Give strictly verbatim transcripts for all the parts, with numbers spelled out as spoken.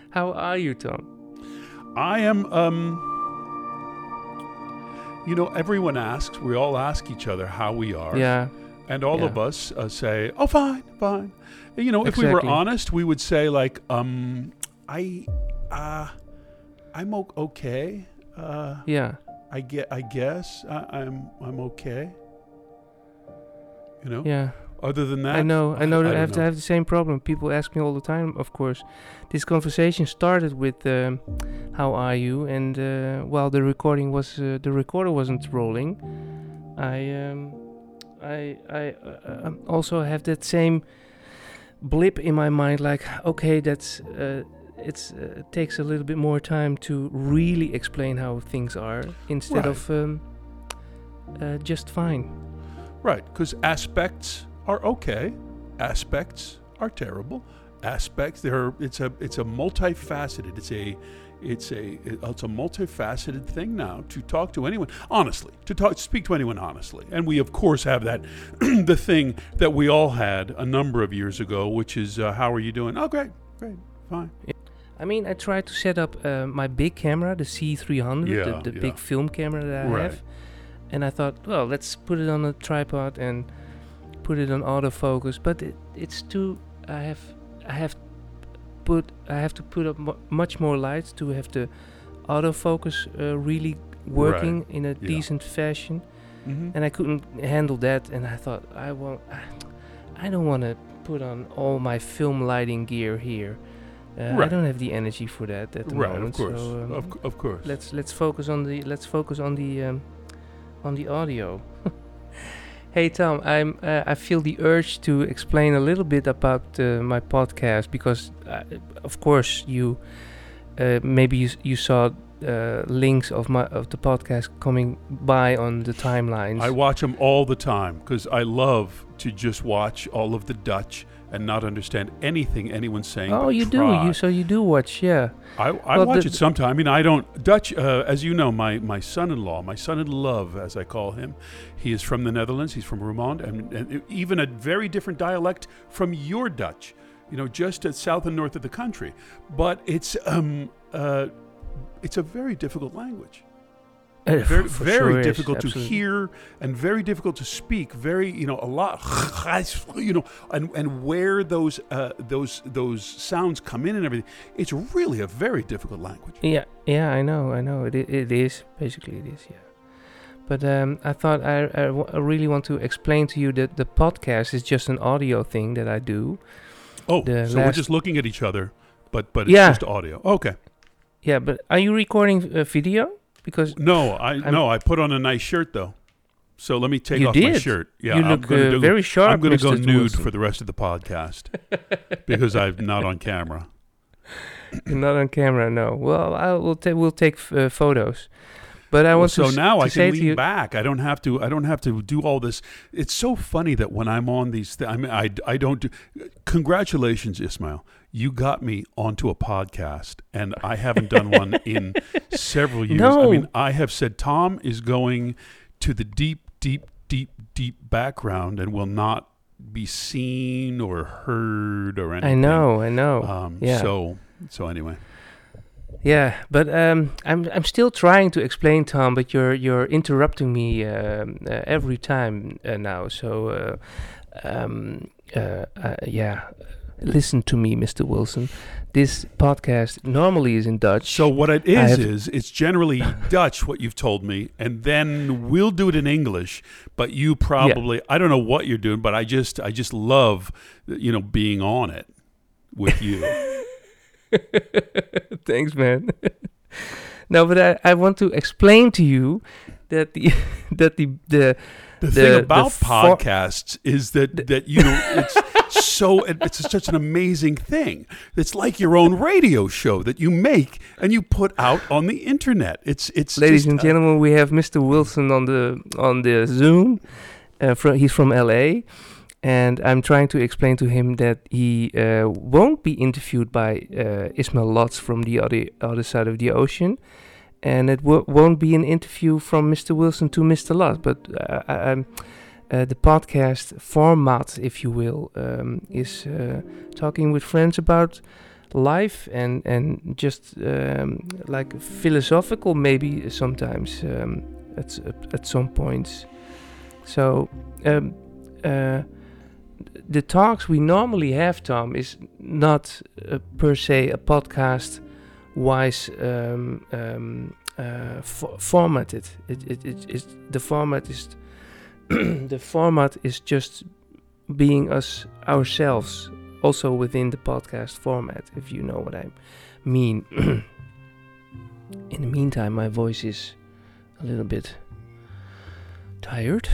How are you, Tom? I am, um, you know, everyone asks, we all ask each other how we are. Yeah. And all yeah. of us uh, say, oh, fine, fine. You know, if exactly. we were honest, we would say, like, um, I, uh, I'm o- okay. Uh, yeah. I get, I guess I, I'm, I'm okay. You know? Yeah. Other than that, I know, I know that I, I have know. to have the same problem. People ask me all the time, of course. This conversation started with um, how are you? And uh, while the recording was, uh, the recorder wasn't rolling, I, um, I, I uh, also have that same blip in my mind. Like, okay, that's uh, it's uh, it takes a little bit more time to really explain how things are instead Right. of um, uh, just fine. Right, because aspects are okay, aspects are terrible. Aspects, there, it's a, it's a multifaceted. It's a, it's a, it's a multifaceted thing now to talk to anyone honestly, to talk, speak to anyone honestly. And we of course have that, the thing that we all had a number of years ago, which is, uh, how are you doing? Oh, great, great, fine. I mean, I tried to set up uh, my big camera, the C three hundred, Yeah, the, the yeah. big film camera that I Right. have. And I thought, well, let's put it on a tripod and put it on autofocus. But it, it's too. I have, I have put. I have to put up mu- much more lights to have the autofocus uh, really working Right. in a Yeah. decent fashion. Mm-hmm. And I couldn't handle that. And I thought, I won't. I don't want to put on all my film lighting gear here. Uh, I Right. don't have the energy for that at the Right, moment. of course, So, um, of, c- of course. let's let's focus on the let's focus on the um, on the audio. Hey Tom, I'm uh, I feel the urge to explain a little bit about uh, my podcast because, uh, of course, you uh, maybe you, s- you saw uh, links of my of the podcast coming by on the timelines. I watch them all the time because I love to just watch all of the Dutch and not understand anything anyone's saying. oh, but you do try. you so you do watch, yeah. I, I Well, watch the- it sometime. I mean, I don't Dutch. Uh, as you know, my, my son-in-law, my son-in-love, as I call him, he is from the Netherlands. He's from Roermond, and, and even a very different dialect from your Dutch. You know, just at south and north of the country. But it's um uh, it's a very difficult language. Uh, Very for very sure is, difficult to absolutely. hear and very difficult to speak. Very you know a lot you know and and where those uh, those those sounds come in and everything. It's really a very difficult language. Yeah, yeah, I know, I know. It i- it is basically it is, yeah. But um, I thought I, I, w- I really want to explain to you that the podcast is just an audio thing that I do. Oh, The so we're last- just looking at each other, but but it's Yeah. just audio. Okay. Yeah, but are you recording uh, video? Because No, I I'm- no, I put on a nice shirt though. So let me take You off my did? shirt. Yeah, you I'm look gonna uh, do, very sharp. I'm going to go Mister nude Wilson. for the rest of the podcast because I'm not on camera. You're not on camera, no. Well, I will. Ta- we'll take f- uh, photos. But I Well, want so to. s- now to I say can to lean you, back. I don't have to. I don't have to do all this. It's so funny that when I'm on these, th- I mean, I, I don't do. Congratulations, Ismail. You got me onto a podcast, and I haven't done one in several years. I No. mean, I have said Tom is going to the deep, deep, deep, deep background and will not be seen or heard or anything. I know, I know. Um, yeah. So, so anyway. Yeah, but um, I'm I'm still trying to explain, Tom. But you're you're interrupting me um, uh, every time uh, now. So, uh, um, uh, uh, yeah, listen to me, Mister Wilson. This podcast normally is in Dutch. So what it I is have- is it's generally Dutch what you've told me, and then we'll do it in English. But you probably I don't know what you're doing, but I just I just love you know being on it with you. Thanks, man. No, but I, I want to explain to you that the that the the The, The- thing the about for- podcasts is that that you know it's so it- it's such an amazing thing. It's like your own radio show that you make and you put out on the internet. It's it's ladies just, and uh, gentlemen, we have Mister Wilson on the on the Zoom. Uh, fro- he's from L A, and I'm trying to explain to him that he uh, won't be interviewed by uh, Ismail Lotz from the other other side of the ocean, and it w- won't be an interview from Mister Wilson to Mister Lotz, but uh, I- I'm. Uh, the podcast format, if you will, um, is uh, talking with friends about life and and just um, like philosophical maybe sometimes um, at s- at some points. So um, uh, the talks we normally have, Tom, is not uh, per se a podcast wise um, um, uh, fo- formatted. It, it, it, it, the format is the format is just being us ourselves, also within the podcast format, if you know what I mean. In the meantime, my voice is a little bit tired.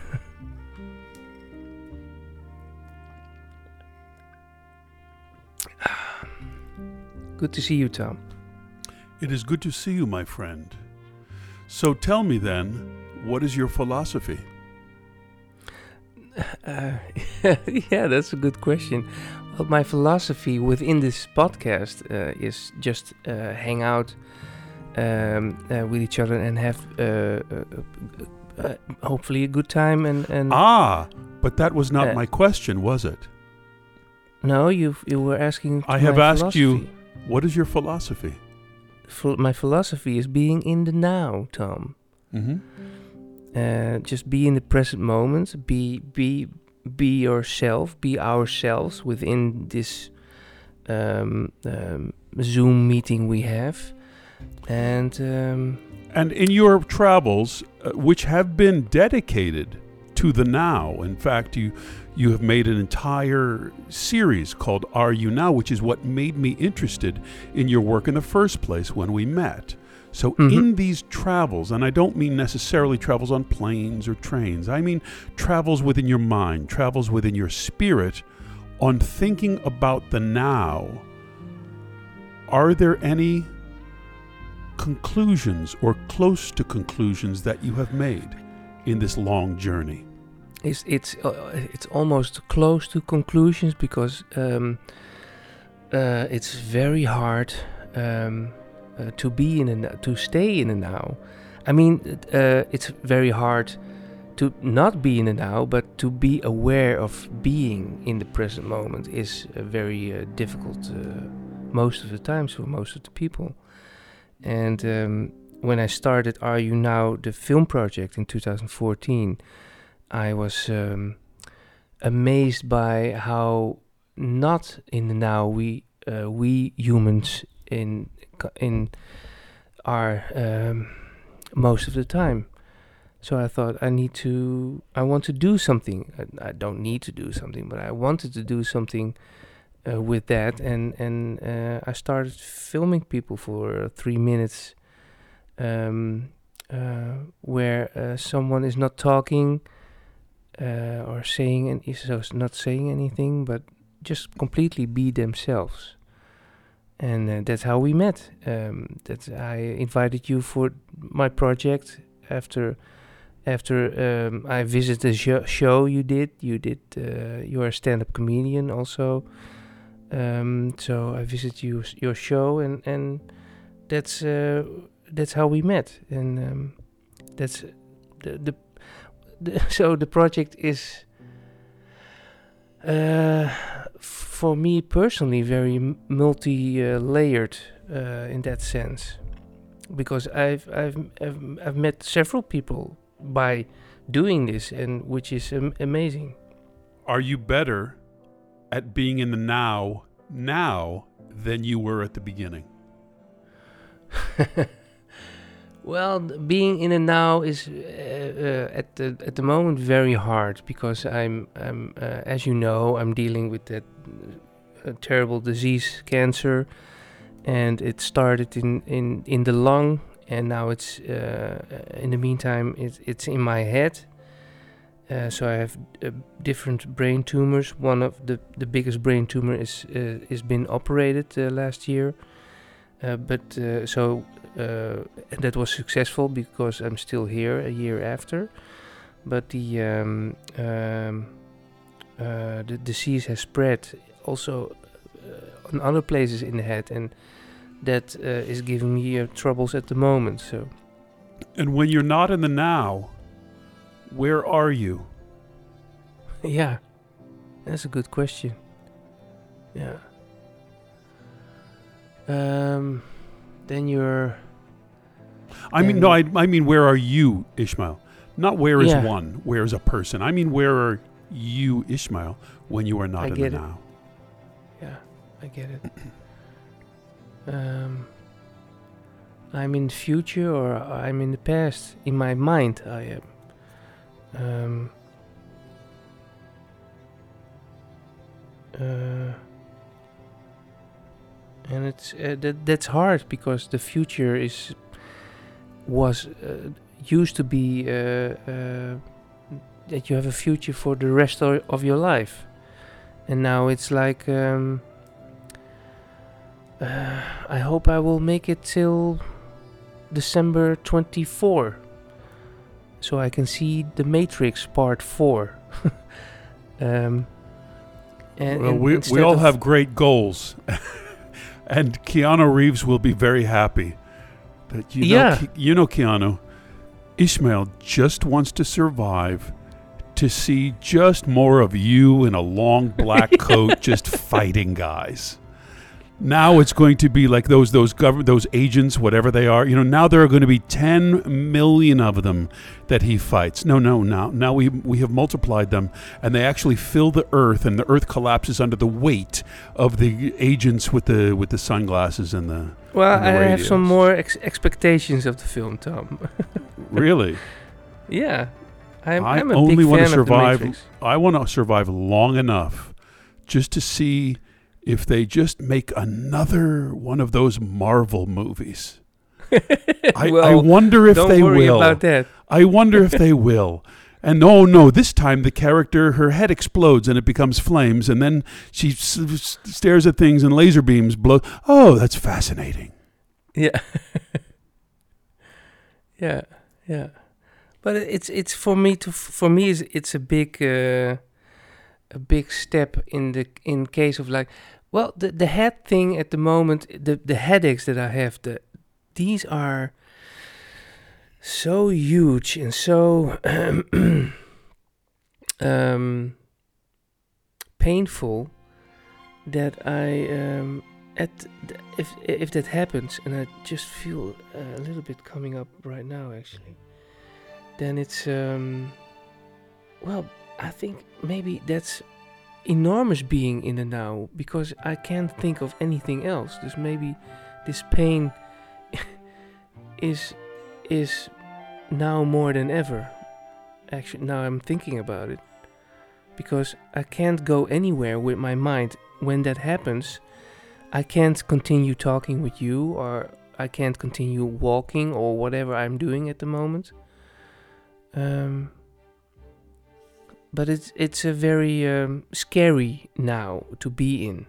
Good to see you, Tom. It is good to see you, my friend. So tell me then, what is your philosophy? Uh, yeah, that's a good question. Well, my philosophy within this podcast uh, is just uh, hang out um, uh, with each other and have uh, uh, uh, hopefully a good time. And, and Ah, but that was not Uh, my question, was it? no, you you were asking. I have my asked you, philosophy. what is your philosophy? Ph- my philosophy is being in the now, Tom. Mm-hmm. Uh, just be in the present moment. Be be be yourself. Be ourselves within this um, um, Zoom meeting we have, and um, And in your travels, uh, which have been dedicated to the now, in fact, you you have made an entire series called Are You Now, which is what made me interested in your work in the first place when we met. So Mhm. in these travels, and I don't mean necessarily travels on planes or trains, I mean travels within your mind, travels within your spirit on thinking about the now, are there any conclusions or close to conclusions that you have made in this long journey? it's it's uh, it's almost close to conclusions because um, uh, it's very hard um, uh, to be in a n- to stay in a now. I mean, uh, it's very hard to not be in the now, but to be aware of being in the present moment is uh, very uh, difficult uh, most of the times for most of the people. And um, when I started Are You Now, the film project in two thousand fourteen, I was um, amazed by how not in the now we uh, we humans in in are um, most of the time. So I thought I need to, I want to do something. I, I don't need to do something, but I wanted to do something uh, with that, and and uh, I started filming people for uh, three minutes, um, uh, where uh, someone is not talking uh, or saying, and is so not saying anything, but just completely be themselves. And uh, that's how we met. Um, that I invited you for my project after. After um, I visited the sh- show you did, you did. Uh, you're a stand-up comedian also, um, so I visited you your show, and and that's uh, that's how we met, and um, that's the, the, the so the project is uh, for me personally very m- multi-layered uh, in that sense, because I've I've I've, I've met several people by doing this, and which is am- amazing. Are you better at being in the now now than you were at the beginning? Well, th- being in the now is uh, uh, at the at the moment very hard because I'm I'm uh, as you know, I'm dealing with that uh, terrible disease, cancer, and it started in in in the lung, and now it's uh, in the meantime it's it's in my head. Uh, so I have uh, different brain tumors. One of the the biggest brain tumor is uh, is been operated uh, last year, uh, but uh, so uh, and that was successful because I'm still here a year after. But the um, um, uh, the disease has spread also uh, on other places in the head, and that uh, is giving me uh, troubles at the moment. So And when you're not in the now, where are you? yeah, that's a good question. Yeah. um, then you're. I mean, no, I, I mean, where are you, Ishmael? Not where is Yeah. one, where is a person. I mean, where are you, Ishmael, when you are not I in get the it. now? Yeah, I get it. um, I'm in the future or I'm in the past. In my mind, I am. Um, uh, and it's uh, that that's hard because the future is was uh, used to be uh, uh, that you have a future for the rest of, of your life, and now it's like um, uh, I hope I will make it till December twenty-fourth, so I can see The Matrix Part Four. um, and, Well, and we, instead we all of- have great goals. And Keanu Reeves will be very happy. That you know, Yeah. Ke- you know, Keanu, Ishmael just wants to survive to see just more of you in a long black coat just fighting guys. Now it's going to be like those those government those agents, whatever they are. You know, now there are going to be ten million of them that he fights. No, no, now now we we have multiplied them, and they actually fill the earth, and the earth collapses under the weight of the agents with the with the sunglasses and the. Well, and the I have some radios. more ex- expectations of the film, Tom. Really, yeah, I'm, I I'm a only big want to fan of The survive. Matrix. I want to survive long enough just to see if they just make another one of those Marvel movies. I, well, I wonder if don't they worry will. about that. I wonder if they will. And oh no, this time the character, her head explodes and it becomes flames, and then she s- s- stares at things and laser beams blow. Oh, that's fascinating. Yeah. yeah, yeah. But it's it's for me to for me is it's a big uh, a big step in the in case of like well the the head thing at the moment, the the headaches that I have, the these are so huge and so um painful that I um at th- if if that happens, and I just feel a little bit coming up right now actually, then it's um well I think maybe that's enormous being in the now, because I can't think of anything else. There's maybe this pain is is now more than ever. Actually, now I'm thinking about it, because I can't go anywhere with my mind. When that happens, I can't continue talking with you, or I can't continue walking, or whatever I'm doing at the moment. Um, but it's it's a very um, scary now to be in,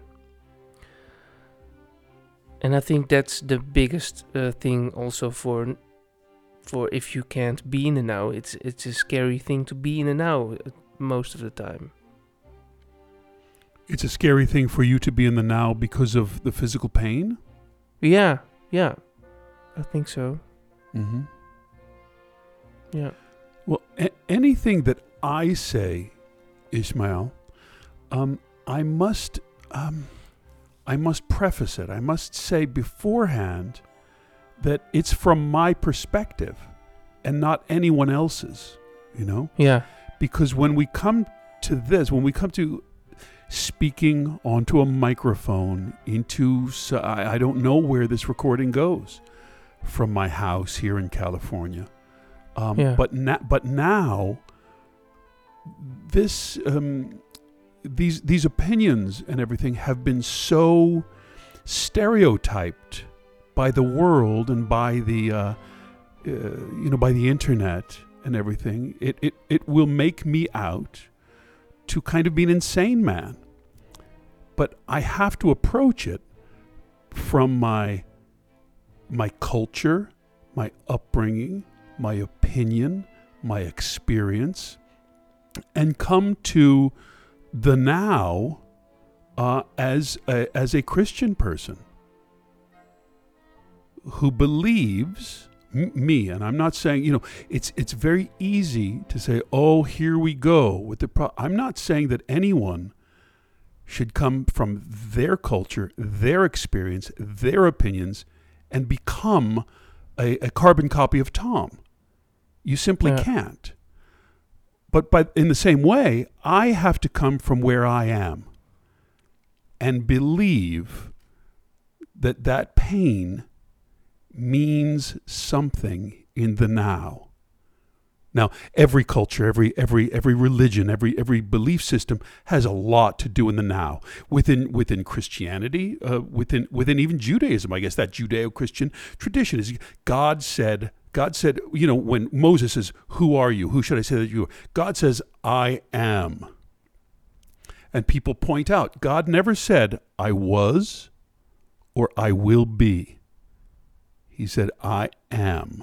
and I think that's the biggest uh, thing also for for if you can't be in the now. It's it's a scary thing to be in the now uh, most of the time. It's a scary thing for you to be in the now because of the physical pain. Yeah, yeah, I think so. Mm-hmm. Yeah. Well, a- anything that I say, Ishmael, um, I must, um, I must preface it. I must say beforehand that it's from my perspective and not anyone else's. You know, Yeah. because when we come to this, when we come to speaking onto a microphone into, so I, I don't know where this recording goes from my house here in California. Um, Yeah. But na- but now, this um, these these opinions and everything have been so stereotyped by the world and by the uh, uh, you know by the internet and everything. It it it will make me out to kind of be an insane man. But I have to approach it from my my culture, my upbringing, my opinion, my experience, and come to the now uh, as a, as a Christian person who believes m- me. And I'm not saying, you know, it's it's very easy to say, oh, here we go with the pro-. I'm not saying that anyone should come from their culture, their experience, their opinions, and become a, a carbon copy of Tom. You simply Yeah. can't. But by, in the same way, I have to come from where I am and believe that that pain means something in the now. Now, every culture, every every every religion, every every belief system has a lot to do in the now. Within within Christianity, uh, within within even Judaism, I guess that Judeo-Christian tradition is God said. God said, you know, when Moses says, "Who are you? Who should I say that you are?" God says, "I am." And people point out, God never said, "I was," or "I will be." He said, "I am."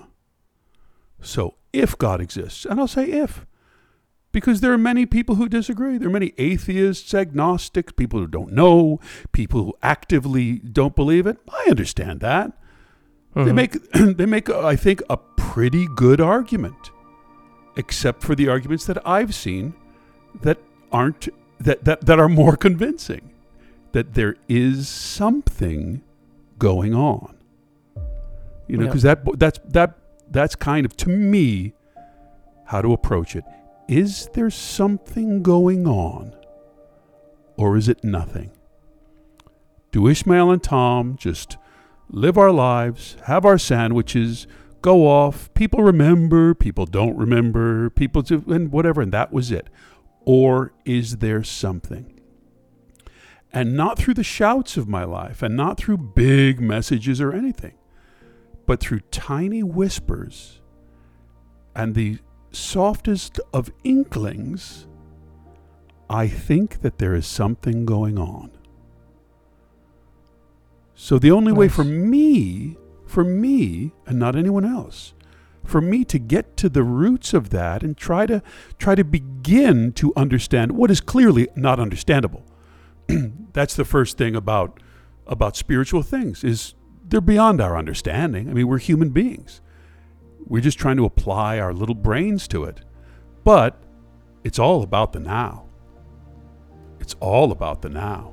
So if God exists, and I'll say if, because there are many people who disagree. There are many atheists, agnostics, people who don't know, people who actively don't believe it. I understand that. Mhm. They make, they make, I think, a pretty good argument, except for the arguments that I've seen that aren't, that, that, that are more convincing, that there is something going on. You know, Yeah. because that, that's, that, that's kind of, to me, how to approach it. Is there something going on, or is it nothing? Do Ishmael and Tom just live our lives, have our sandwiches, go off, people remember, people don't remember, people do, and whatever, and that was it? Or is there something? And not through the shouts of my life, and not through big messages or anything, but through tiny whispers and the softest of inklings, I think that there is something going on. So the only way Nice. for me, for me, and not anyone else, for me to get to the roots of that and try to try to begin to understand what is clearly not understandable. That's the first thing about about spiritual things, is they're beyond our understanding. I mean, we're human beings. We're just trying to apply our little brains to it. But it's all about the now. It's all about the now.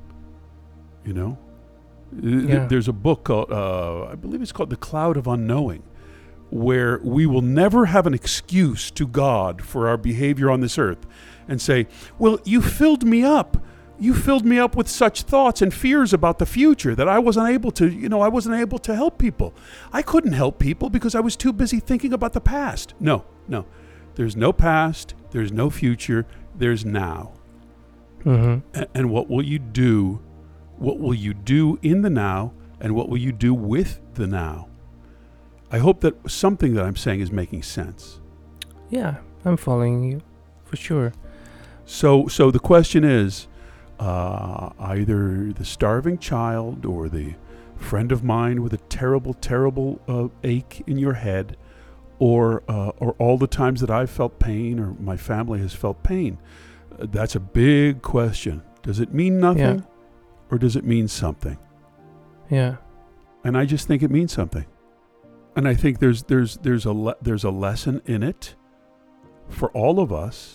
You know? Yeah. There's a book called, uh, I believe it's called The Cloud of Unknowing, where we will never have an excuse to God for our behavior on this earth and say, well, you filled me up. You filled me up with such thoughts and fears about the future that I wasn't able to, you know, I wasn't able to help people. I couldn't help people because I was too busy thinking about the past. No, no. There's no past. There's no future. There's now. Mm-hmm. A- and what will you do? What will you do in the now? And what will you do with the now? I hope that something that I'm saying is making sense. Yeah, I'm following you, for sure. So, so the question is, uh, either the starving child or the friend of mine with a terrible, terrible uh, ache in your head, or uh, or all the times that I've felt pain or my family has felt pain. Uh, that's a big question. Does it mean nothing, Yeah. or does it mean something? Yeah. And I just think it means something. And I think there's there's there's a le- there's a lesson in it for all of us.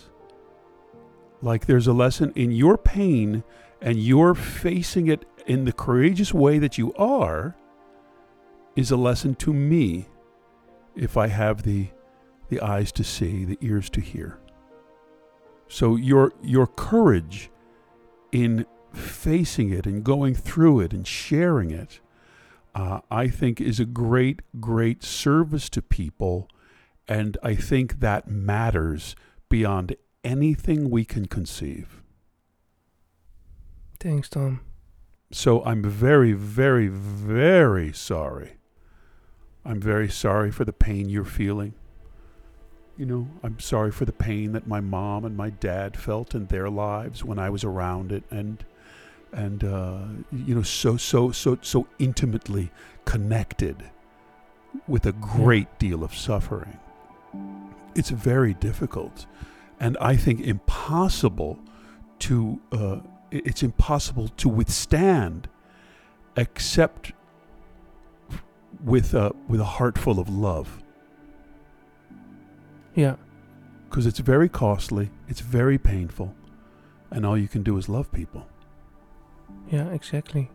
Like there's a lesson in your pain, and you're facing it in the courageous way that you are, is a lesson to me, if I have the the eyes to see, the ears to hear. So your your courage in facing it and going through it and sharing it, uh, I think is a great, great service to people. And I think that matters beyond anything we can conceive. Thanks, Tom. So I'm very, very, very sorry. I'm very sorry for the pain you're feeling. You know, I'm sorry for the pain that my mom and my dad felt in their lives when I was around it, and and uh, you know, so so so so intimately connected with a great deal of suffering. It's very difficult, and I think impossible to uh, it's impossible to withstand, except with a with a heart full of love. Yeah. Because it's very costly, it's very painful, and all you can do is love people. Yeah, exactly.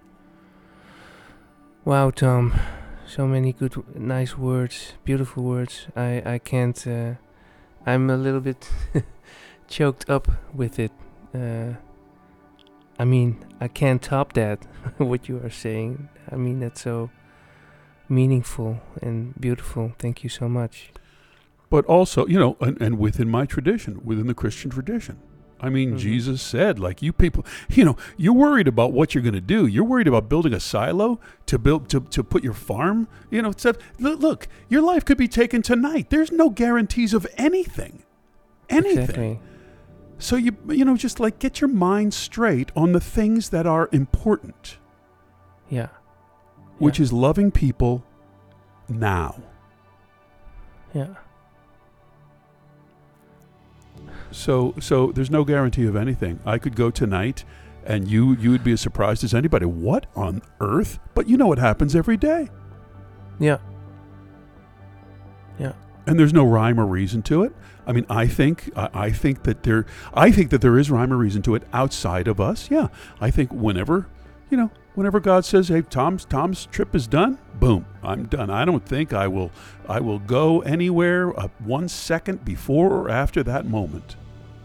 Wow, Tom. So many good, w- nice words, beautiful words. I, I can't. Uh, I'm a little bit choked up with it. Uh, I mean, I can't top that. What you are saying. I mean, that's so meaningful and beautiful. Thank you so much. But also, you know, and, and within my tradition, within the Christian tradition. I mean, Mhm. Jesus said, like, you people, you know, you're worried about what you're going to do. You're worried about building a silo to build, to, to put your farm, you know, stuff. Look, look, your life could be taken tonight. There's no guarantees of anything. Anything. Exactly. So you, you know, just like get your mind straight on the things that are important, Yeah. which Yeah. is loving people now. Yeah. So, so there's no guarantee of anything. I could go tonight, and you you would be as surprised as anybody. What on earth? But you know what happens every day, Yeah. Yeah. and there's no rhyme or reason to it. I mean, I think I, I think that there I think that there is rhyme or reason to it outside of us. Yeah, I think whenever you know whenever God says, "Hey, Tom's Tom's trip is done," boom, I'm done. I don't think I will I will go anywhere uh, one second before or after that moment.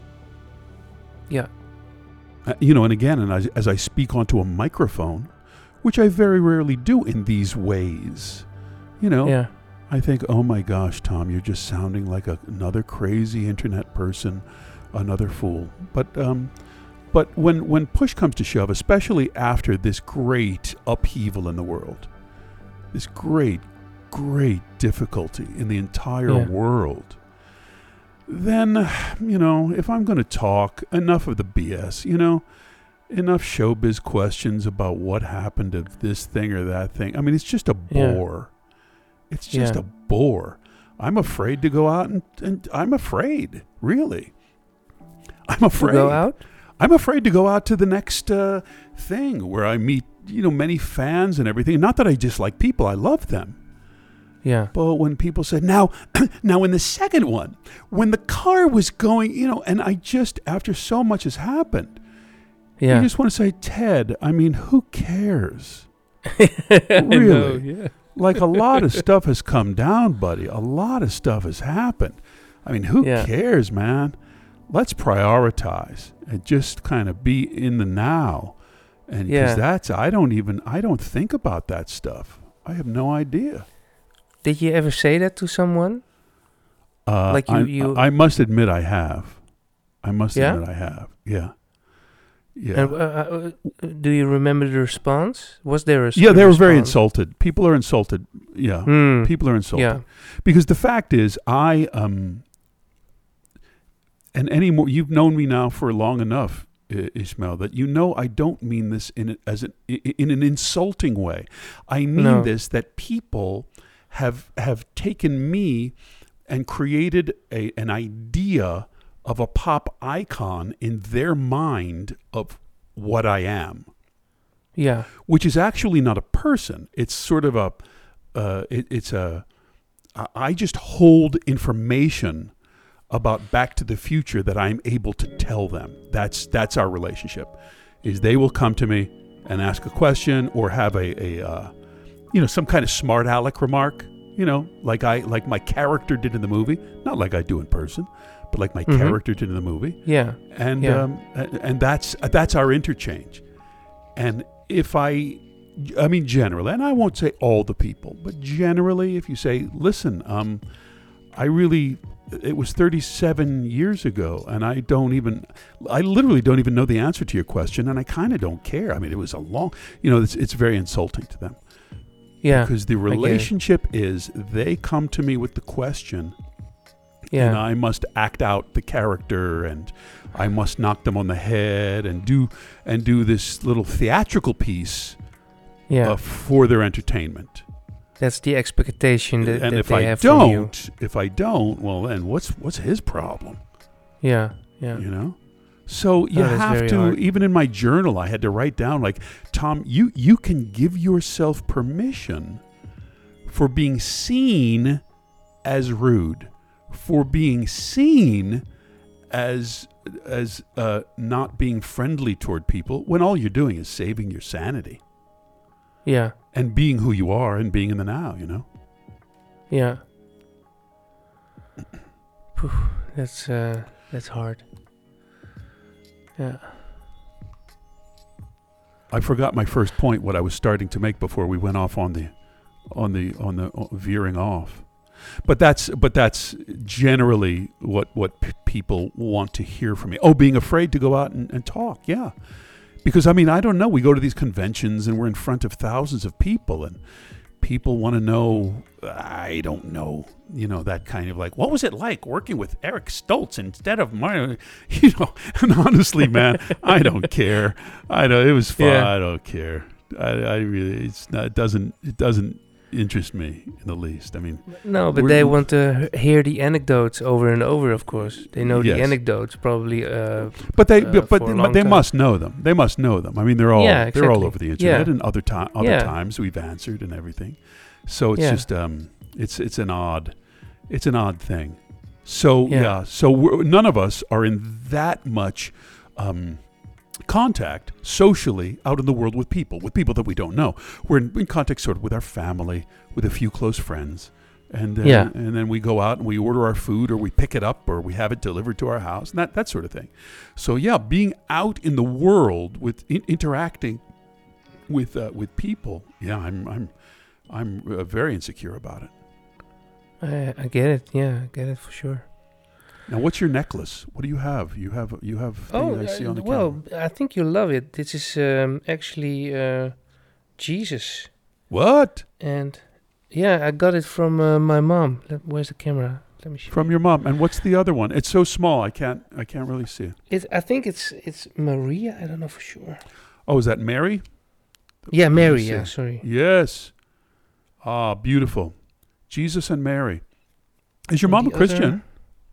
Yeah. Uh, you know, and again, and as, as I speak onto a microphone, which I very rarely do in these ways, you know, Yeah. I think, oh my gosh, Tom, you're just sounding like a, another crazy internet person, another fool. But um, but when when push comes to shove, especially after this great upheaval in the world, this great, great difficulty in the entire Yeah. world, then, you know, if I'm going to talk, enough of the B S, you know, enough showbiz questions about what happened to this thing or that thing. I mean, it's just a Yeah. bore. It's just Yeah. a bore. I'm afraid to go out and, and I'm afraid, really. I'm To afraid. go out? I'm afraid to go out to the next uh, thing where I meet, you know, many fans and everything. Not that I dislike people. I love them. Yeah. But when people said, now, now in the second one, when the car was going, you know, and I just, after so much has happened, Yeah. you just want to say, Ted, I mean, who cares? I know, Really? yeah. Like a lot of stuff has come down, buddy. A lot of stuff has happened. I mean, who Yeah. cares, man? Let's prioritize and just kind of be in the now. And because Yeah. that's, I don't even, I don't think about that stuff. I have no idea. Did you ever say that to someone? Uh, Like you- I, you- I must admit I have. I must Yeah? admit I have. Yeah. Yeah. And uh, uh, uh, do you remember the response? Was there a s- yeah, they were very response? insulted. People are insulted. Yeah. Hmm. People are insulted. Yeah. Because the fact is, I, um, and any more, you've known me now for long enough, I- Ishmael, that you know I don't mean this in a, as an, i- in an insulting way. I mean No. this, that people have have taken me and created a an idea of a pop icon in their mind of what I am, Yeah. which is actually not a person. It's sort of a, uh, it, it's a, I I just hold information about Back to the Future that I'm able to tell them. That's that's our relationship. Is they will come to me and ask a question or have a, a uh, you know, some kind of smart aleck remark. You know, like I like my character did in the movie, not like I do in person, but like my Mhm. character did in the movie. Yeah. And Yeah. um, a- and that's that's our interchange. And if I, I mean, generally, and I won't say all the people, but generally, if you say, listen, um, I really, it was thirty-seven years ago, and I don't even, I literally don't even know the answer to your question, and I kind of don't care. I mean, it was a long, you know, it's, it's very insulting to them. Yeah. Because the get it. relationship is they come to me with the question, and Yeah. I must act out the character, and I must knock them on the head, and do and do this little theatrical piece Yeah. uh, for their entertainment. That's the expectation that, and that if they I have from you. don't, if I don't, well, then what's what's his problem? Yeah. Yeah. You know. So you Oh, that's have very to. hard. Even in my journal, I had to write down like, Tom, you you can give yourself permission for being seen as rude, for being seen as as uh, not being friendly toward people when all you're doing is saving your sanity Yeah. and being who you are and being in the now, you know? Yeah. Phew, that's uh, that's hard. Yeah. I forgot my first point, what I was starting to make before we went off on the, on the, on the uh, veering off. But that's, but that's generally what, what p- people want to hear from me. Oh, being afraid to go out and, and talk. Yeah. Because, I mean, I don't know. We go to these conventions and we're in front of thousands of people and people want to know, I don't know, you know, that kind of like, what was it like working with Eric Stoltz instead of my, you know, and honestly, man, I don't care. I know it was fun. Yeah. I don't care. I, I really, it's not, it doesn't, it doesn't interest me in the least. I mean, No, but we're- they want to h- hear the anecdotes over and over, of course. They know Yes. the anecdotes probably. Uh, But they, uh, but, but, for a but long they time. must know them. They must know them. I mean, they're all Yeah, they're all exactly. over the internet, Yeah. and other time other Yeah. times we've answered and everything. So it's Yeah. just um, it's it's an odd, it's an odd thing. So Yeah. yeah, so we're, none of us are in that much um, contact socially out in the world with people, with people that we don't know. We're in, in contact sort of with our family, with a few close friends. And then, Yeah. and then we go out and we order our food or we pick it up or we have it delivered to our house and that, that sort of thing. So yeah, being out in the world with in, interacting with uh, with people, yeah, I'm I'm I'm uh, very insecure about it. I, I get it. Yeah, I get it for sure. Now, what's your necklace? What do you have? You have you have thing Oh, I see uh, on the well, camera. I think you love it. This is um, actually uh, Jesus. What? And yeah, I got it from uh, my mom. Let, where's the camera? Let me show From you. your mom. And what's the other one? It's so small. I can't I can't really see it. It, I think it's it's Maria. I don't know for sure. Oh, is that Mary? Yeah, Let me Mary. see. Yeah, sorry. Yes. Ah, beautiful. Jesus and Mary. Is your And mom a the Christian? other-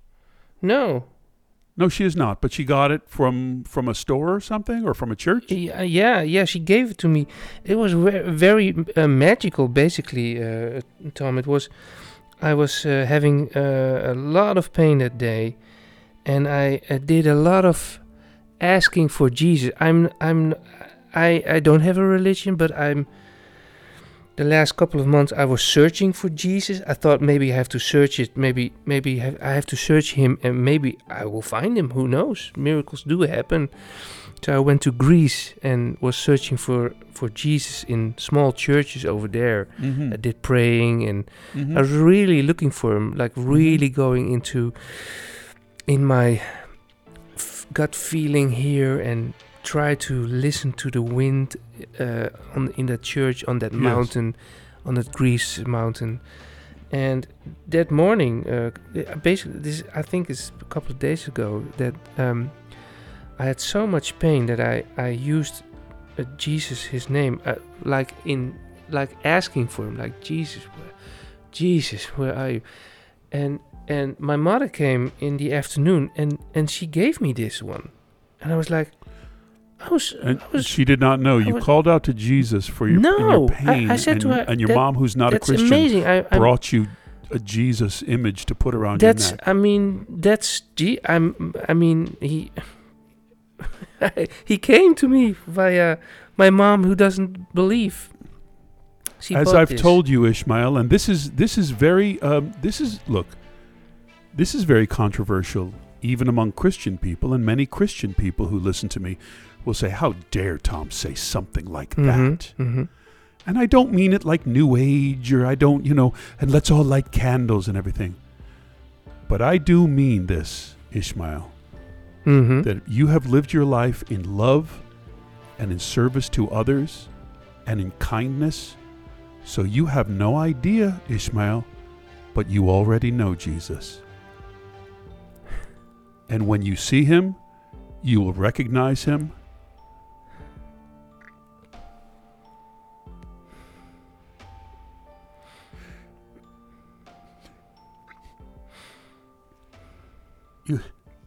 No. No, she is not. But she got it from from a store or something, or from a church. Yeah, yeah, yeah. She gave it to me. It was ve- very uh, magical, basically, uh, Tom. It was. I was uh, having uh, a lot of pain that day, and I, I did a lot of asking for Jesus. I'm. I'm. I. I don't have a religion, but I'm. The last couple of months, I was searching for Jesus. I thought maybe I have to search it. Maybe, maybe have, I have to search him, and maybe I will find him. Who knows? Miracles do happen. So I went to Greece and was searching for, for Jesus in small churches over there. Mm-hmm. I did praying, and Mm-hmm. I was really looking for him, like really going into in my f- gut feeling here and try to listen to the wind uh, on in that church, on that Yes. mountain, on that Greece mountain. And that morning, uh, basically, this I think it's a couple of days ago that um, I had so much pain that I I used uh, Jesus, his name, uh, like in like asking for him, like Jesus, where, Jesus, where are you? And and my mother came in the afternoon, and and she gave me this one, and I was like, I was, And I was she did not know. I You was- called out to Jesus for your, in No, your I- pain, I said and, to her, and your that- mom, who's not a that's Christian, amazing. I, I'm, brought you a Jesus image to put around that's, your neck. I mean, that's, G- I'm, I mean, he, he came to me via my mom, who doesn't believe. She As bought I've this. told you, Ishmael, and this is this is very um, this is look, this is very controversial, even among Christian people, and many Christian people who listen to me will say, "How dare Tom say something like Mhm, that?" mhm. And I don't mean it like New Age, or I don't, you know, and let's all light candles and everything. But I do mean this, Ishmael, Mhm. that you have lived your life in love and in service to others and in kindness. So you have no idea, Ishmael, but you already know Jesus. And when you see him, you will recognize him. You,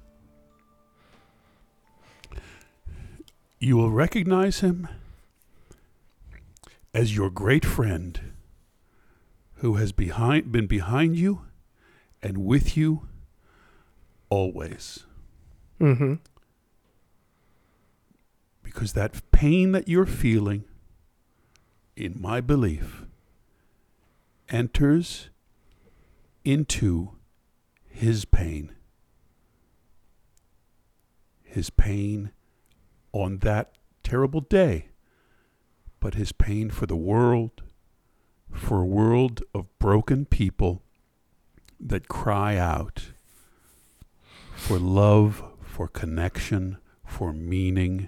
you will recognize him as your great friend who has behind, been behind you and with you always. Mm-hmm. Because that pain that you're feeling, in my belief, enters into his pain. His pain on that terrible day, but his pain for the world, for a world of broken people that cry out for love, for connection, for meaning.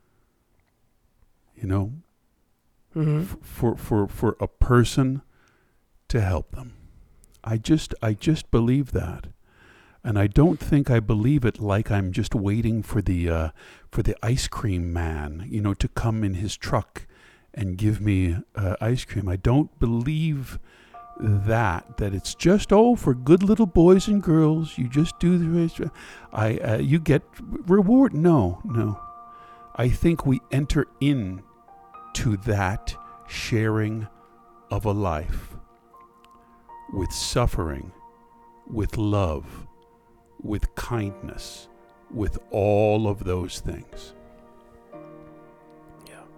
You know, Mm-hmm. f- for for for a person to help them. I just I just believe that, and I don't think I believe it like I'm just waiting for the uh, for the ice cream man, you know, to come in his truck and give me uh, ice cream. I don't believe that that it's just oh for good little boys and girls. You just do the I uh, you get reward. No, no. I think we enter in to that sharing of a life with suffering, with love, with kindness, with all of those things. Yeah.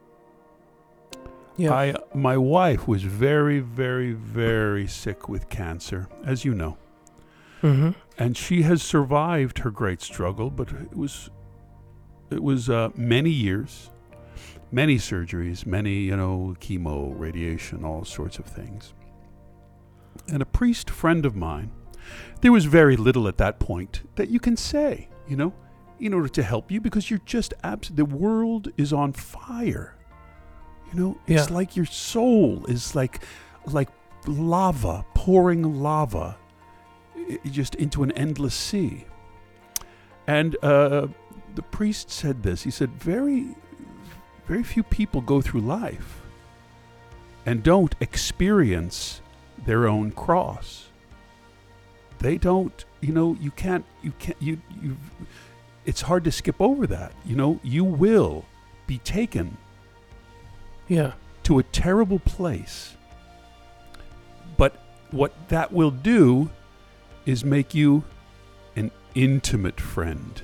Yeah. I, my wife was very, very, very sick with cancer, as you know. Mm-hmm. And she has survived her great struggle, but it was, it was uh, many years. Many surgeries, many, you know, chemo, radiation, all sorts of things. And a priest friend of mine, there was very little at that point that you can say, you know, in order to help you, because you're just abs- the world is on fire. You know, it's Yeah. like your soul is like like lava, pouring lava i- just into an endless sea. And uh, the priest said this. He said, very Very few people go through life and don't experience their own cross. They don't, you know, you can't, you can't, you, you, it's hard to skip over that. You know, you will be taken Yeah. to a terrible place. But what that will do is make you an intimate friend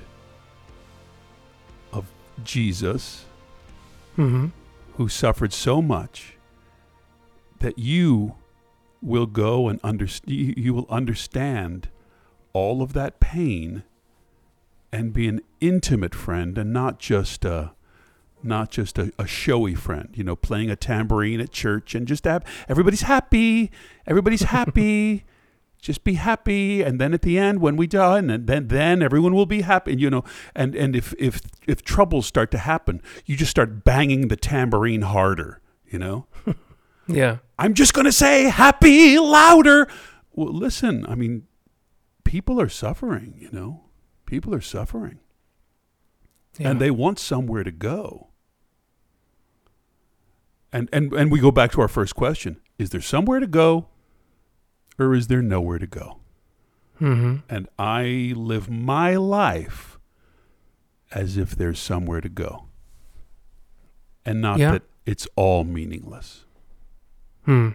of Jesus, Mm-hmm. who suffered so much that you will go and understand, you will understand all of that pain and be an intimate friend and not just a, not just a, a showy friend, you know, playing a tambourine at church and just have, everybody's happy, everybody's happy, just be happy, and then at the end when we die, and then then everyone will be happy, and, you know, and and if if if troubles start to happen, you just start banging the tambourine harder, you know. Yeah. I'm just gonna say happy louder. Well, listen, I mean, people are suffering, you know, people are suffering, Yeah. and they want somewhere to go. And and and we go back to our first question: is there somewhere to go? Or is there nowhere to go? Mm-hmm. And I live my life as if there's somewhere to go. And not Yeah. that it's all meaningless. Hmm.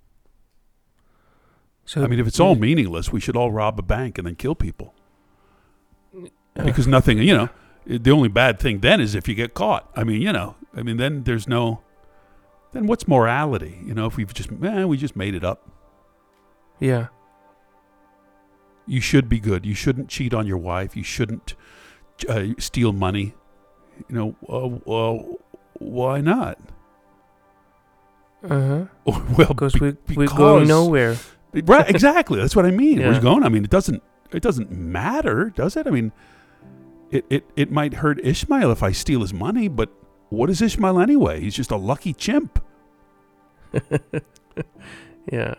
So I mean, if it's all meaningless, we should all rob a bank and then kill people. uh, Because nothing, you know, the only bad thing then is if you get caught. I mean, you know, I mean, then there's no, then what's morality? You know, if we've just, eh, we just made it up. Yeah. You should be good. You shouldn't cheat on your wife. You shouldn't uh, steal money. You know, uh, uh, why not? Uh-huh. Well, Because be- we we're because- going nowhere. Right, exactly. That's what I mean. Yeah. Where's it going? I mean, it doesn't. It doesn't matter, does it? I mean, it, it it might hurt Ishmael if I steal his money, but what is Ishmael anyway? He's just a lucky chimp. Yeah.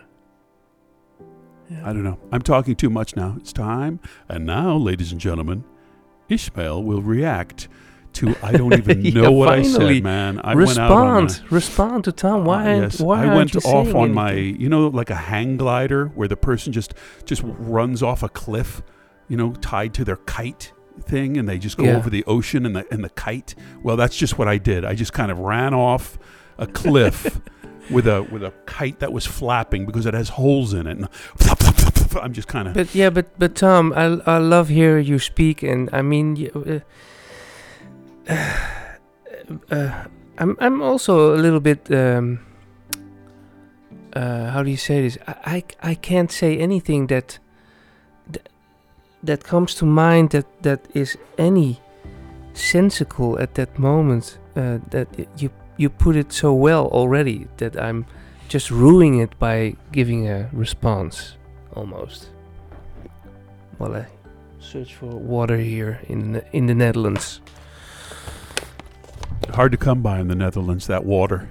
I don't know. I'm talking too much now. It's time. And now, ladies and gentlemen, Ishmael will react to I don't even know Yeah, what I finally. said, man. I respond. went out on my, Respond to Tom. Why? Uh, yes, why I aren't went you off saying on my, anything? you know, like a hang glider where the person just just runs off a cliff, you know, tied to their kite thing, and they just go Yeah. over the ocean and the and the kite. Well, that's just what I did. I just kind of ran off a cliff with a with a kite that was flapping because it has holes in it. And I'm just kind of. But yeah, but but Tom, I I love hear you speak, and I mean, you, uh, uh, I'm I'm also a little bit. Um, uh, how do you say this? I, I I can't say anything that that, that comes to mind that that is any sensical at that moment. Uh, that you you put it so well already that I'm just ruining it by giving a response, almost. While I search for water here in the, in the Netherlands. Hard to come by in the Netherlands, that water.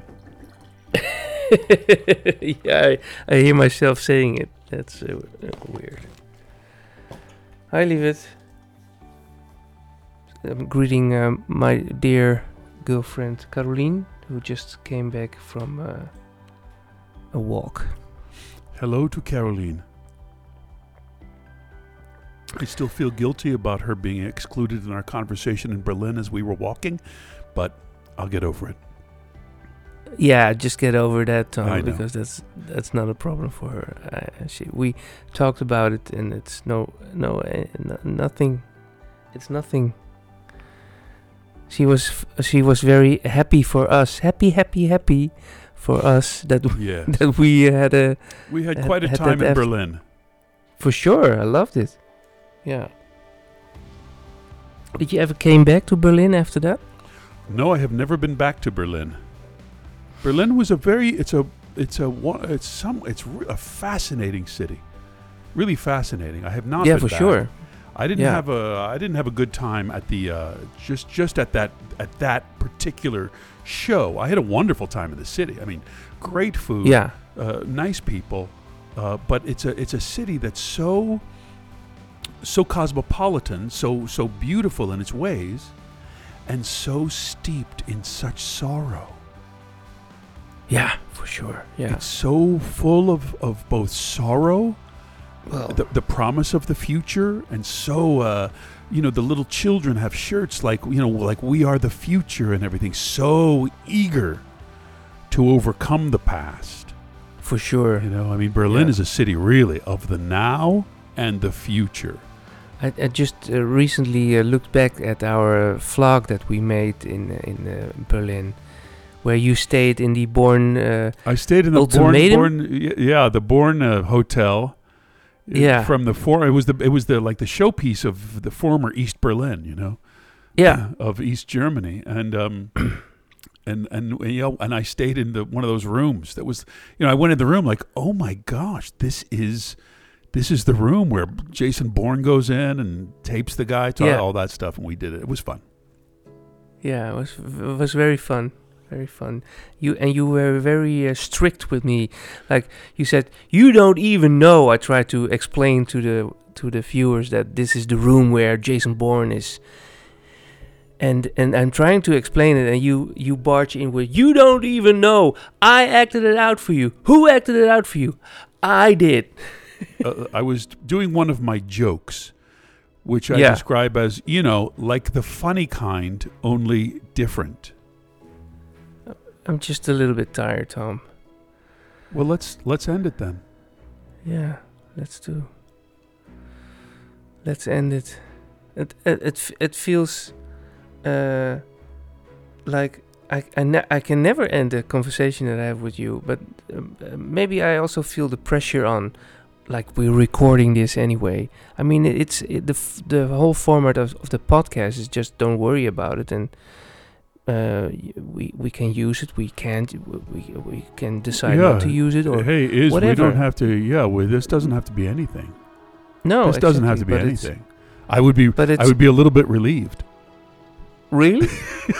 Yeah, I, I hear myself saying it. That's uh, uh, weird. Hi, Livet. I'm greeting um, my dear girlfriend Caroline, who just came back from uh, a walk. Hello to Caroline. I still feel guilty about her being excluded in our conversation in Berlin as we were walking, but I'll get over it. Yeah, just get over that, Tom, I know. because that's that's not a problem for her. I, she, we talked about it, and it's no, no, uh, no, nothing. It's nothing. She was f- she was very happy for us, happy, happy, happy for us that w- Yes. that we had a We had had- quite a had time that in af- Berlin. for sure. I loved it. Yeah. Did you ever came back to Berlin after that? No, I have never been back to Berlin. Berlin was a very it's a it's a one it's some it's re- a fascinating city. Really fascinating. I have not Yeah, been for back. sure. I didn't Yeah. have a I didn't have a good time at the uh, just just at that at that particular show. I had a wonderful time in the city. I mean, great food, Yeah. uh, nice people, uh, but it's a it's a city that's so so cosmopolitan, so so beautiful in its ways, and so steeped in such sorrow. Yeah, for sure. Yeah. It's so full of, of both sorrow, Well, the, the promise of the future, and so, uh, you know, the little children have shirts like, you know, like we are the future and everything. So eager to overcome the past. for sure. You know, I mean, Berlin Yeah. is a city really of the now and the future. I, I just uh, recently uh, looked back at our uh, vlog that we made in uh, in uh, Berlin, where you stayed in the Born. Uh, I stayed in the Born, Ultimatum? Born, y- yeah, the Born uh, Hotel. uh, Yeah. From the for it was the it was the like the showpiece of the former East Berlin, you know. yeah, Of East Germany, and um, and and you know, and I stayed in the one of those rooms that was, you know, I went in the room like, oh my gosh, this is, this is the room where Jason Bourne goes in and tapes the guy, to Yeah. all that stuff, and we did it. It was fun. yeah. It was it was very fun, very fun. You and you were very uh, strict with me. Like you said, you don't even know. I tried to explain to the to the viewers that this is the room where Jason Bourne is. And and I'm trying to explain it, and you you barge in with, you don't even know. I acted it out for you. Who acted it out for you? I did. uh, I was doing one of my jokes, which I Yeah. describe as, you know, like the funny kind, only different. I'm just a little bit tired, Tom. Well, let's let's end it then. Yeah, let's do. Let's end it. It it it, f- it feels uh, like I I, ne- I can never end a conversation that I have with you, but um, uh, maybe I also feel the pressure on, like we're recording this anyway. I mean, it, it's it, the f- the whole format of, of the podcast is just don't worry about it, and uh, y- we we can use it. We can't. We we can decide Yeah. not to use it or hey, is we whatever. don't have to. Yeah, well, this doesn't have to be anything. no. this doesn't have to be exactly, but it's- anything. I would be. But it's I would be a little bit relieved. really.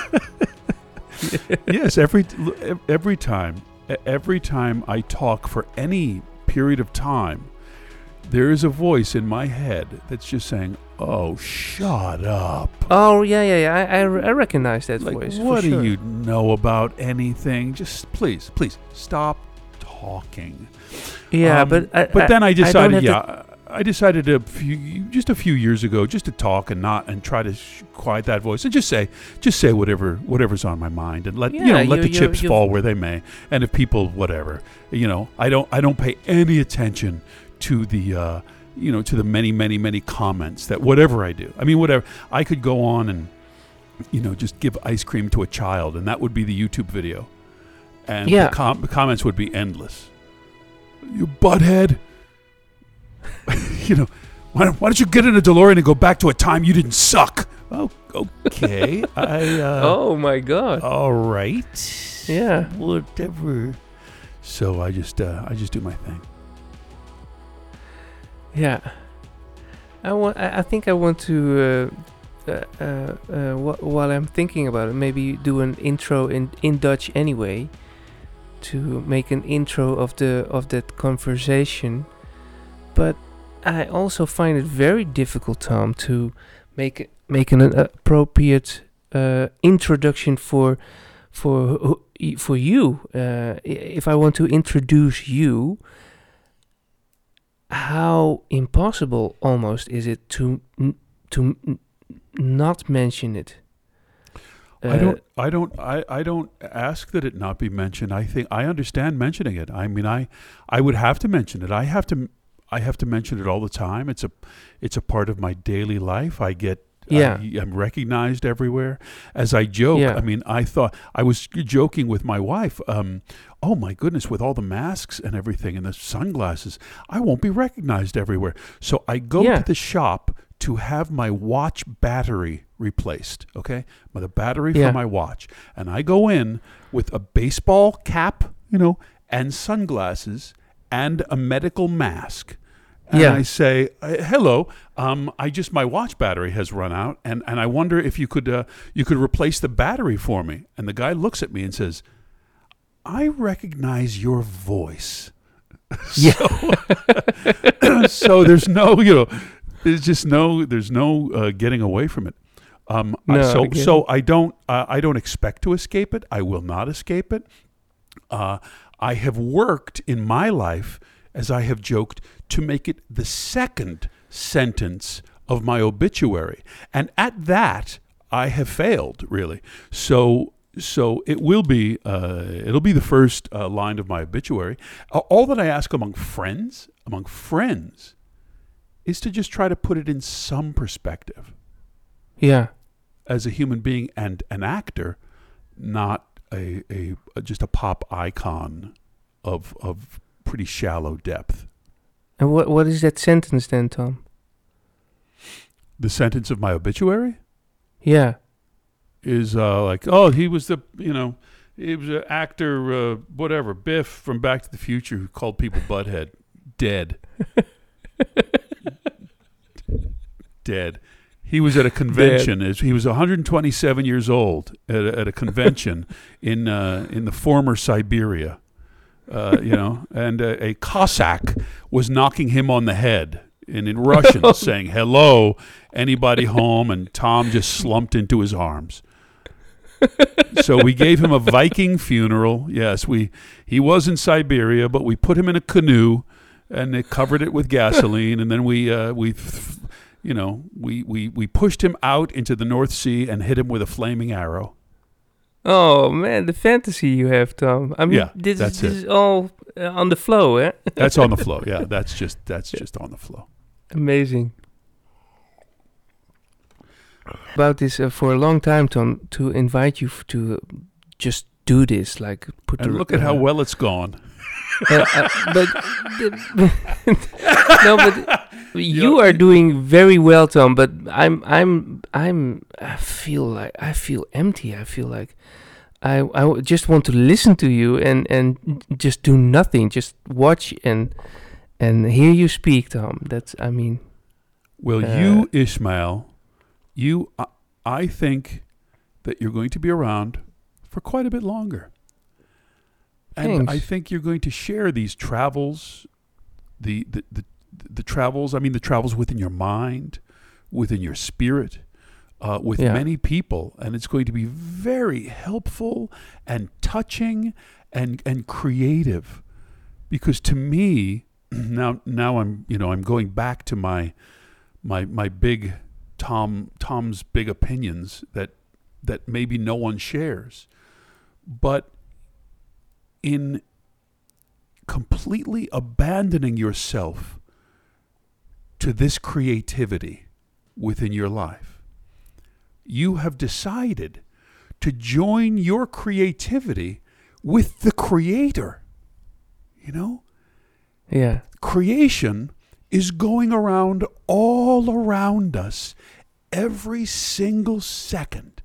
Yes, every every time, every time I talk for any period of time, there is a voice in my head that's just saying, "Oh, shut up! Oh yeah, yeah, yeah. I I, r- I recognize that Like, voice. for what do sure. you know about anything? Just please, please stop talking." Yeah, Um, but I, But then I don't decided, have to- yeah, I decided a few, just a few years ago, just to talk and not and try to sh- quiet that voice and just say, just say whatever, whatever's on my mind, and let you Yeah, know, let you- the you- chips you've- fall where they may. And if people, whatever, you know, I don't, I don't pay any attention to the uh, you know to the many many many comments that whatever I do, I mean whatever, I could go on and you know just give ice cream to a child, and that would be the YouTube video, and Yeah. the, com- the comments would be endless. You butthead. you know, why don't, why don't you get in a DeLorean and go back to a time you didn't suck? Oh, okay. I. Uh, Oh my God. All right. Yeah. Whatever. So I just, uh, I just do my thing. Yeah. I want. I I think I want to. Uh, uh, uh, uh, wh- while I'm thinking about it, maybe do an intro in in Dutch anyway, to make an intro of the of that conversation. But I also find it very difficult, Tom, to make it- make an appropriate uh, introduction for for who- y- for you. Uh, i- if I want to introduce you, how impossible almost is it to n- to n- not mention it? I Uh, don't, I don't, I, I don't ask that it not be mentioned. I think I understand mentioning it. I mean, I, I would have to mention it. I have to, I have to mention it all the time. It's a, it's a part of my daily life. I get, Yeah. I, I'm recognized everywhere. As I joke, Yeah. I mean, I thought I was joking with my wife. Um, oh my goodness, with all the masks and everything and the sunglasses, I won't be recognized everywhere. So I go Yeah. to the shop to have my watch battery replaced, okay? My- The battery Yeah. for my watch. And I go in with a baseball cap, you know, and sunglasses and a medical mask. And Yeah. I say, uh, hello, um, I just, my watch battery has run out, and, and I wonder if you could, uh, you could replace the battery for me. And the guy looks at me and says, I recognize your voice. Yeah. So, so there's no, you know, there's just no, there's no uh, getting away from it. Um, I, No, so, I get so I don't, uh, I don't expect to escape it. I will not escape it. Uh, I have worked in my life, as I have joked, to make it the second sentence of my obituary, and at that, I have failed really. So. So it will be, uh, it'll be the first uh, line of my obituary. Uh, all that I ask among friends, among friends, is to just try to put it in some perspective. Yeah. As a human being and an actor, not a, a, a just a pop icon of of pretty shallow depth. And what what is that sentence then, Tom? The sentence of my obituary Yeah. is uh, like, oh, he was the, you know, he was an actor, uh, whatever, Biff from Back to the Future, who called people butthead. Dead. Dead. He was at a convention. As he was one hundred twenty-seven years old at a, at a convention in uh, in the former Siberia, uh, you know, and uh, a Cossack was knocking him on the head. And in Russian, saying, hello, anybody home? And Tom just slumped into his arms. So we gave him a Viking funeral. Yes, we he was in Siberia, but we put him in a canoe and they covered it with gasoline. And then we, uh, we you know, we, we, we pushed him out into the North Sea and hit him with a flaming arrow. Oh man, the fantasy you have, Tom. I mean, Yeah, this, that's is, this it. is all uh, on the flow, eh? That's on the flow. Yeah, that's just that's just on the flow. Amazing. About this uh, for a long time, Tom, to invite you f- to uh, just do this, like put And the, look at how uh, well it's gone. uh, uh, but no, but you are doing very well, Tom. But I'm, I'm, I'm. I feel like I feel empty. I feel like I, I w- just want to listen to you and and just do nothing, just watch and and hear you speak, Tom. That's, I mean, Well, Uh, you, Ishmael, you, I, I think that you're going to be around for quite a bit longer. And Thanks. I think you're going to share these travels, the, the, the, the travels, I mean, the travels within your mind, within your spirit, uh, with Yeah. many people. And it's going to be very helpful and touching and, and creative. Because to me, now, now I'm, you know, I'm going back to my, my, my big Tom, Tom's big opinions that, that maybe no one shares. But in completely abandoning yourself to this creativity within your life. You have decided to join your creativity with the Creator. You know? Yeah. Creation is going around all around us every single second.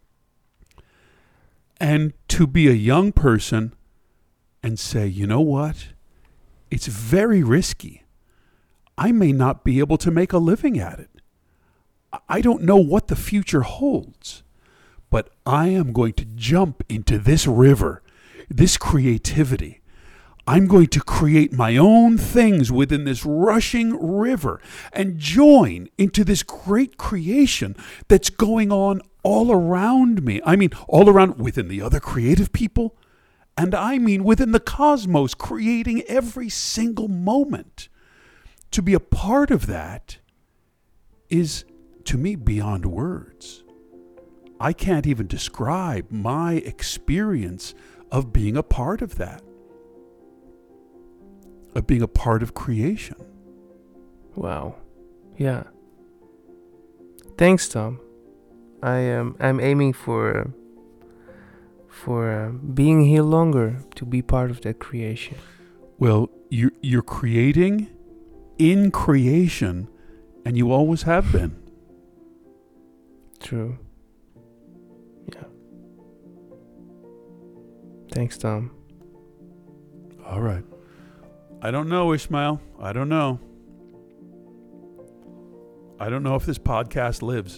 And to be a young person and say, you know what? It's very risky. I may not be able to make a living at it. I don't know what the future holds, but I am going to jump into this river, this creativity. I'm going to create my own things within this rushing river and join into this great creation that's going on all around me. I mean, all around within the other creative people. And I mean within the cosmos, creating every single moment. To be a part of that is, to me, beyond words. I can't even describe my experience of being a part of that. Of being a part of creation. Wow. Yeah. Thanks, Tom. I am. I'm aiming for uh, for uh, being here longer to be part of that creation. Well, you you're creating in creation, and you always have been. True. Yeah. Thanks, Tom. All right. I don't know, Ishmael. I don't know. I don't know if this podcast lives.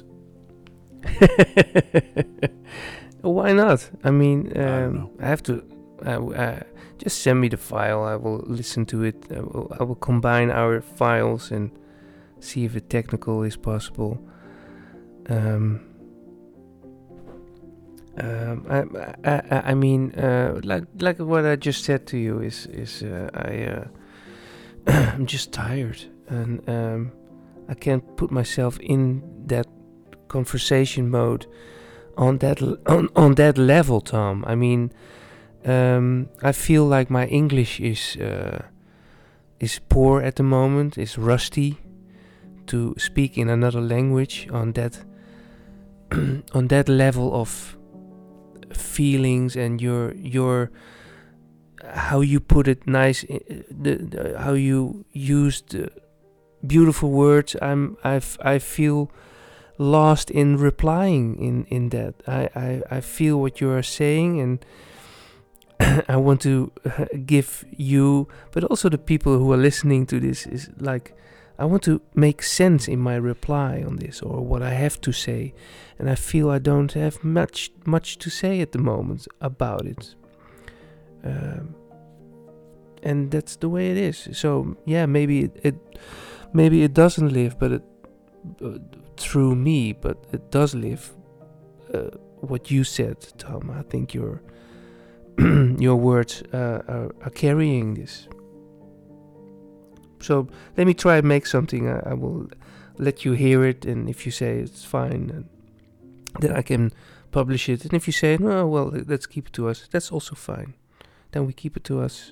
Why not? I mean, um, I don't know. I have to. Uh, uh, just send me the file. I will listen to it. I will, I will combine our files and see if the technical is possible. Um, um, I, I, I, I mean, uh, like like what I just said to you is is uh, I uh, I'm just tired and um, I can't put myself in that conversation mode on that l- on on that level, Tom. I mean, um, I feel like my English is uh, is poor at the moment, is rusty to speak in another language on that on that level of feelings and your your how you put it nice, uh, the, the how you used uh, beautiful words. I'm I I feel lost in replying in in that. I I I feel what you are saying, and I want to uh, give you, but also the people who are listening to this, is like, I want to make sense in my reply on this, or what I have to say, and I feel I don't have much much to say at the moment about it. Um, and that's the way it is. So yeah, maybe it, it maybe it doesn't live, but it uh, through me, but it does live. Uh, what you said, Tom, I think your your words uh, are, are carrying this. So let me try and make something. I, I will let you hear it, and if you say it's fine, and then I can publish it. And if you say, no, well, let's keep it to us, that's also fine. Then we keep it to us,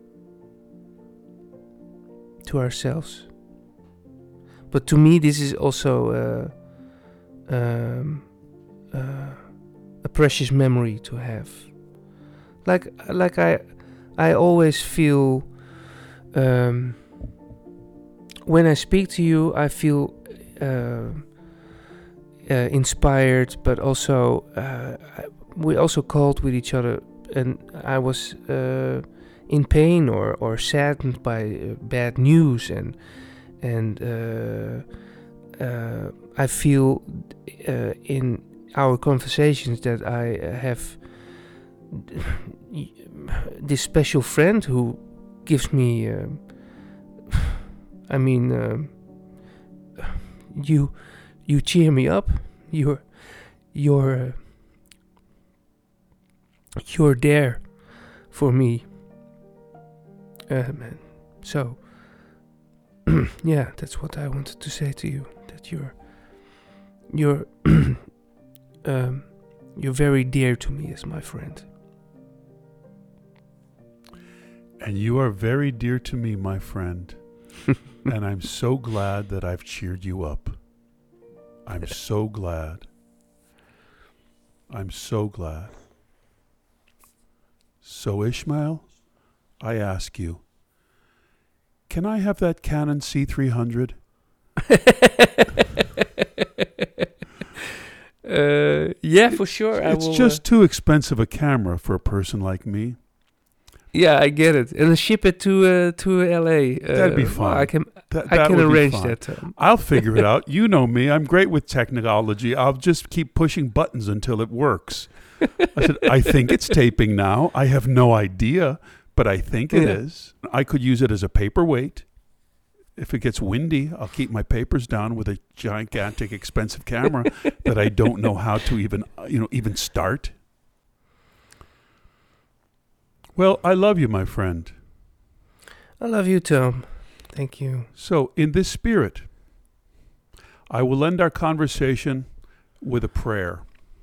to ourselves. But to me, this is also uh, um, uh, a precious memory to have. Like, like I, I always feel. Um, When I speak to you, I feel uh, uh, inspired, but also uh, we also called with each other, and I was uh, in pain or, or saddened by uh, bad news, and and uh, uh, I feel uh, in our conversations that I have this special friend who gives me. Uh, I mean, uh, you you cheer me up. You're you're uh, you're there for me. Um, so yeah, that's what I wanted to say to you. That you're you're um, you're very dear to me as my friend. And you are very dear to me, my friend. And I'm so glad that I've cheered you up. I'm so glad. I'm so glad. So, Ishmael, I ask you, can I have that Canon C three hundred? uh, yeah, for sure. It's I will, just uh, too expensive a camera for a person like me. yeah, I get it. And then ship it to uh, to L A. Uh, That'd be well, fine. I can That, I that can would be arrange fine. that. Um, I'll figure it out. You know me. I'm great with technology. I'll just keep pushing buttons until it works. I said, I think it's taping now. I have no idea, but I think it Yeah. is. I could use it as a paperweight. If it gets windy, I'll keep my papers down with a gigantic, expensive camera that I don't know how to even, uh, you know, even start. Well, I love you, my friend. I love you, Tom. Thank you. So, in this spirit, I will end our conversation with a prayer.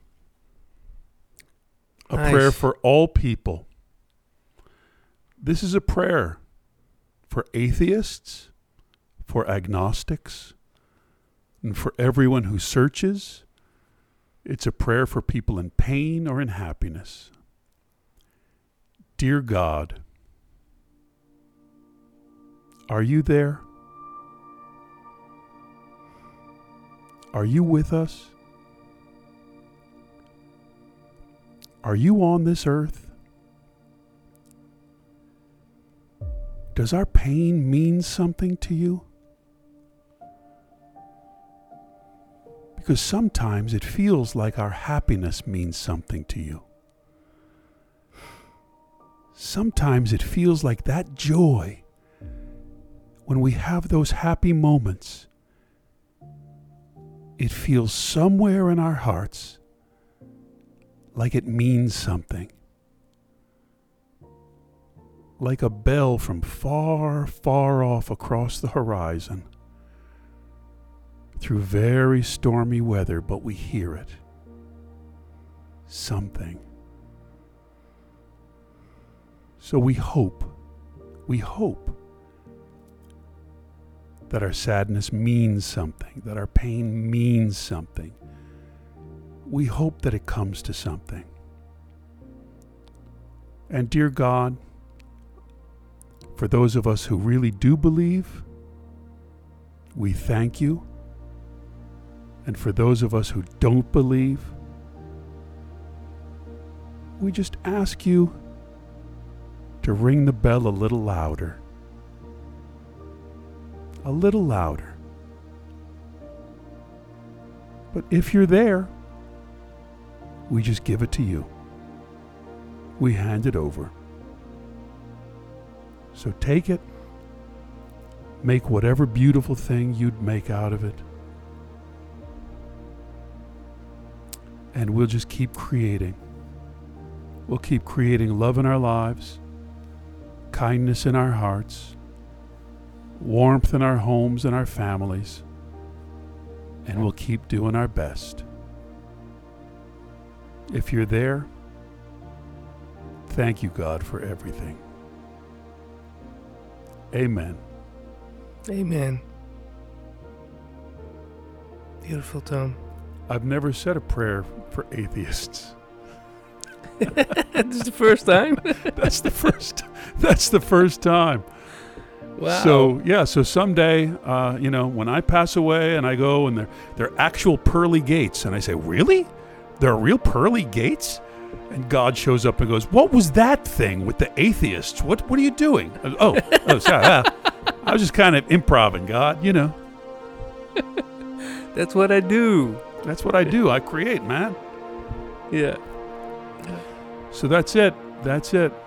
A Nice. prayer for all people. This is a prayer for atheists, for agnostics, and for everyone who searches. It's a prayer for people in pain or in happiness. Dear God, are you there? Are you with us? Are you on this earth? Does our pain mean something to you? Because sometimes it feels like our happiness means something to you. Sometimes it feels like that joy, when we have those happy moments, it feels somewhere in our hearts like it means something. Like a bell from far, far off across the horizon, through very stormy weather, but we hear it. Something. So we hope, we hope that our sadness means something, that our pain means something. We hope that it comes to something. And dear God, for those of us who really do believe, we thank you. And for those of us who don't believe, we just ask you to ring the bell a little louder. A little louder. But if you're there, we just give it to you. We hand it over. So take it, make whatever beautiful thing you'd make out of it, and we'll just keep creating. We'll keep creating love in our lives, kindness in our hearts, warmth in our homes and our families, and we'll keep doing our best. If you're there, thank you, God, for everything. Amen. Amen. Beautiful, Tom. I've never said a prayer for atheists. This is the first time. That's the first. That's the first time. Wow. So yeah. So someday, uh, you know, when I pass away and I go and they're they're actual pearly gates, and I say, really? There are real pearly gates? And God shows up and goes, what was that thing with the atheists? What What are you doing? I go, oh, oh, sorry. Uh, I was just kind of improvising, God. You know. That's what I do. That's what I do. I create, man. Yeah. So that's it. That's it.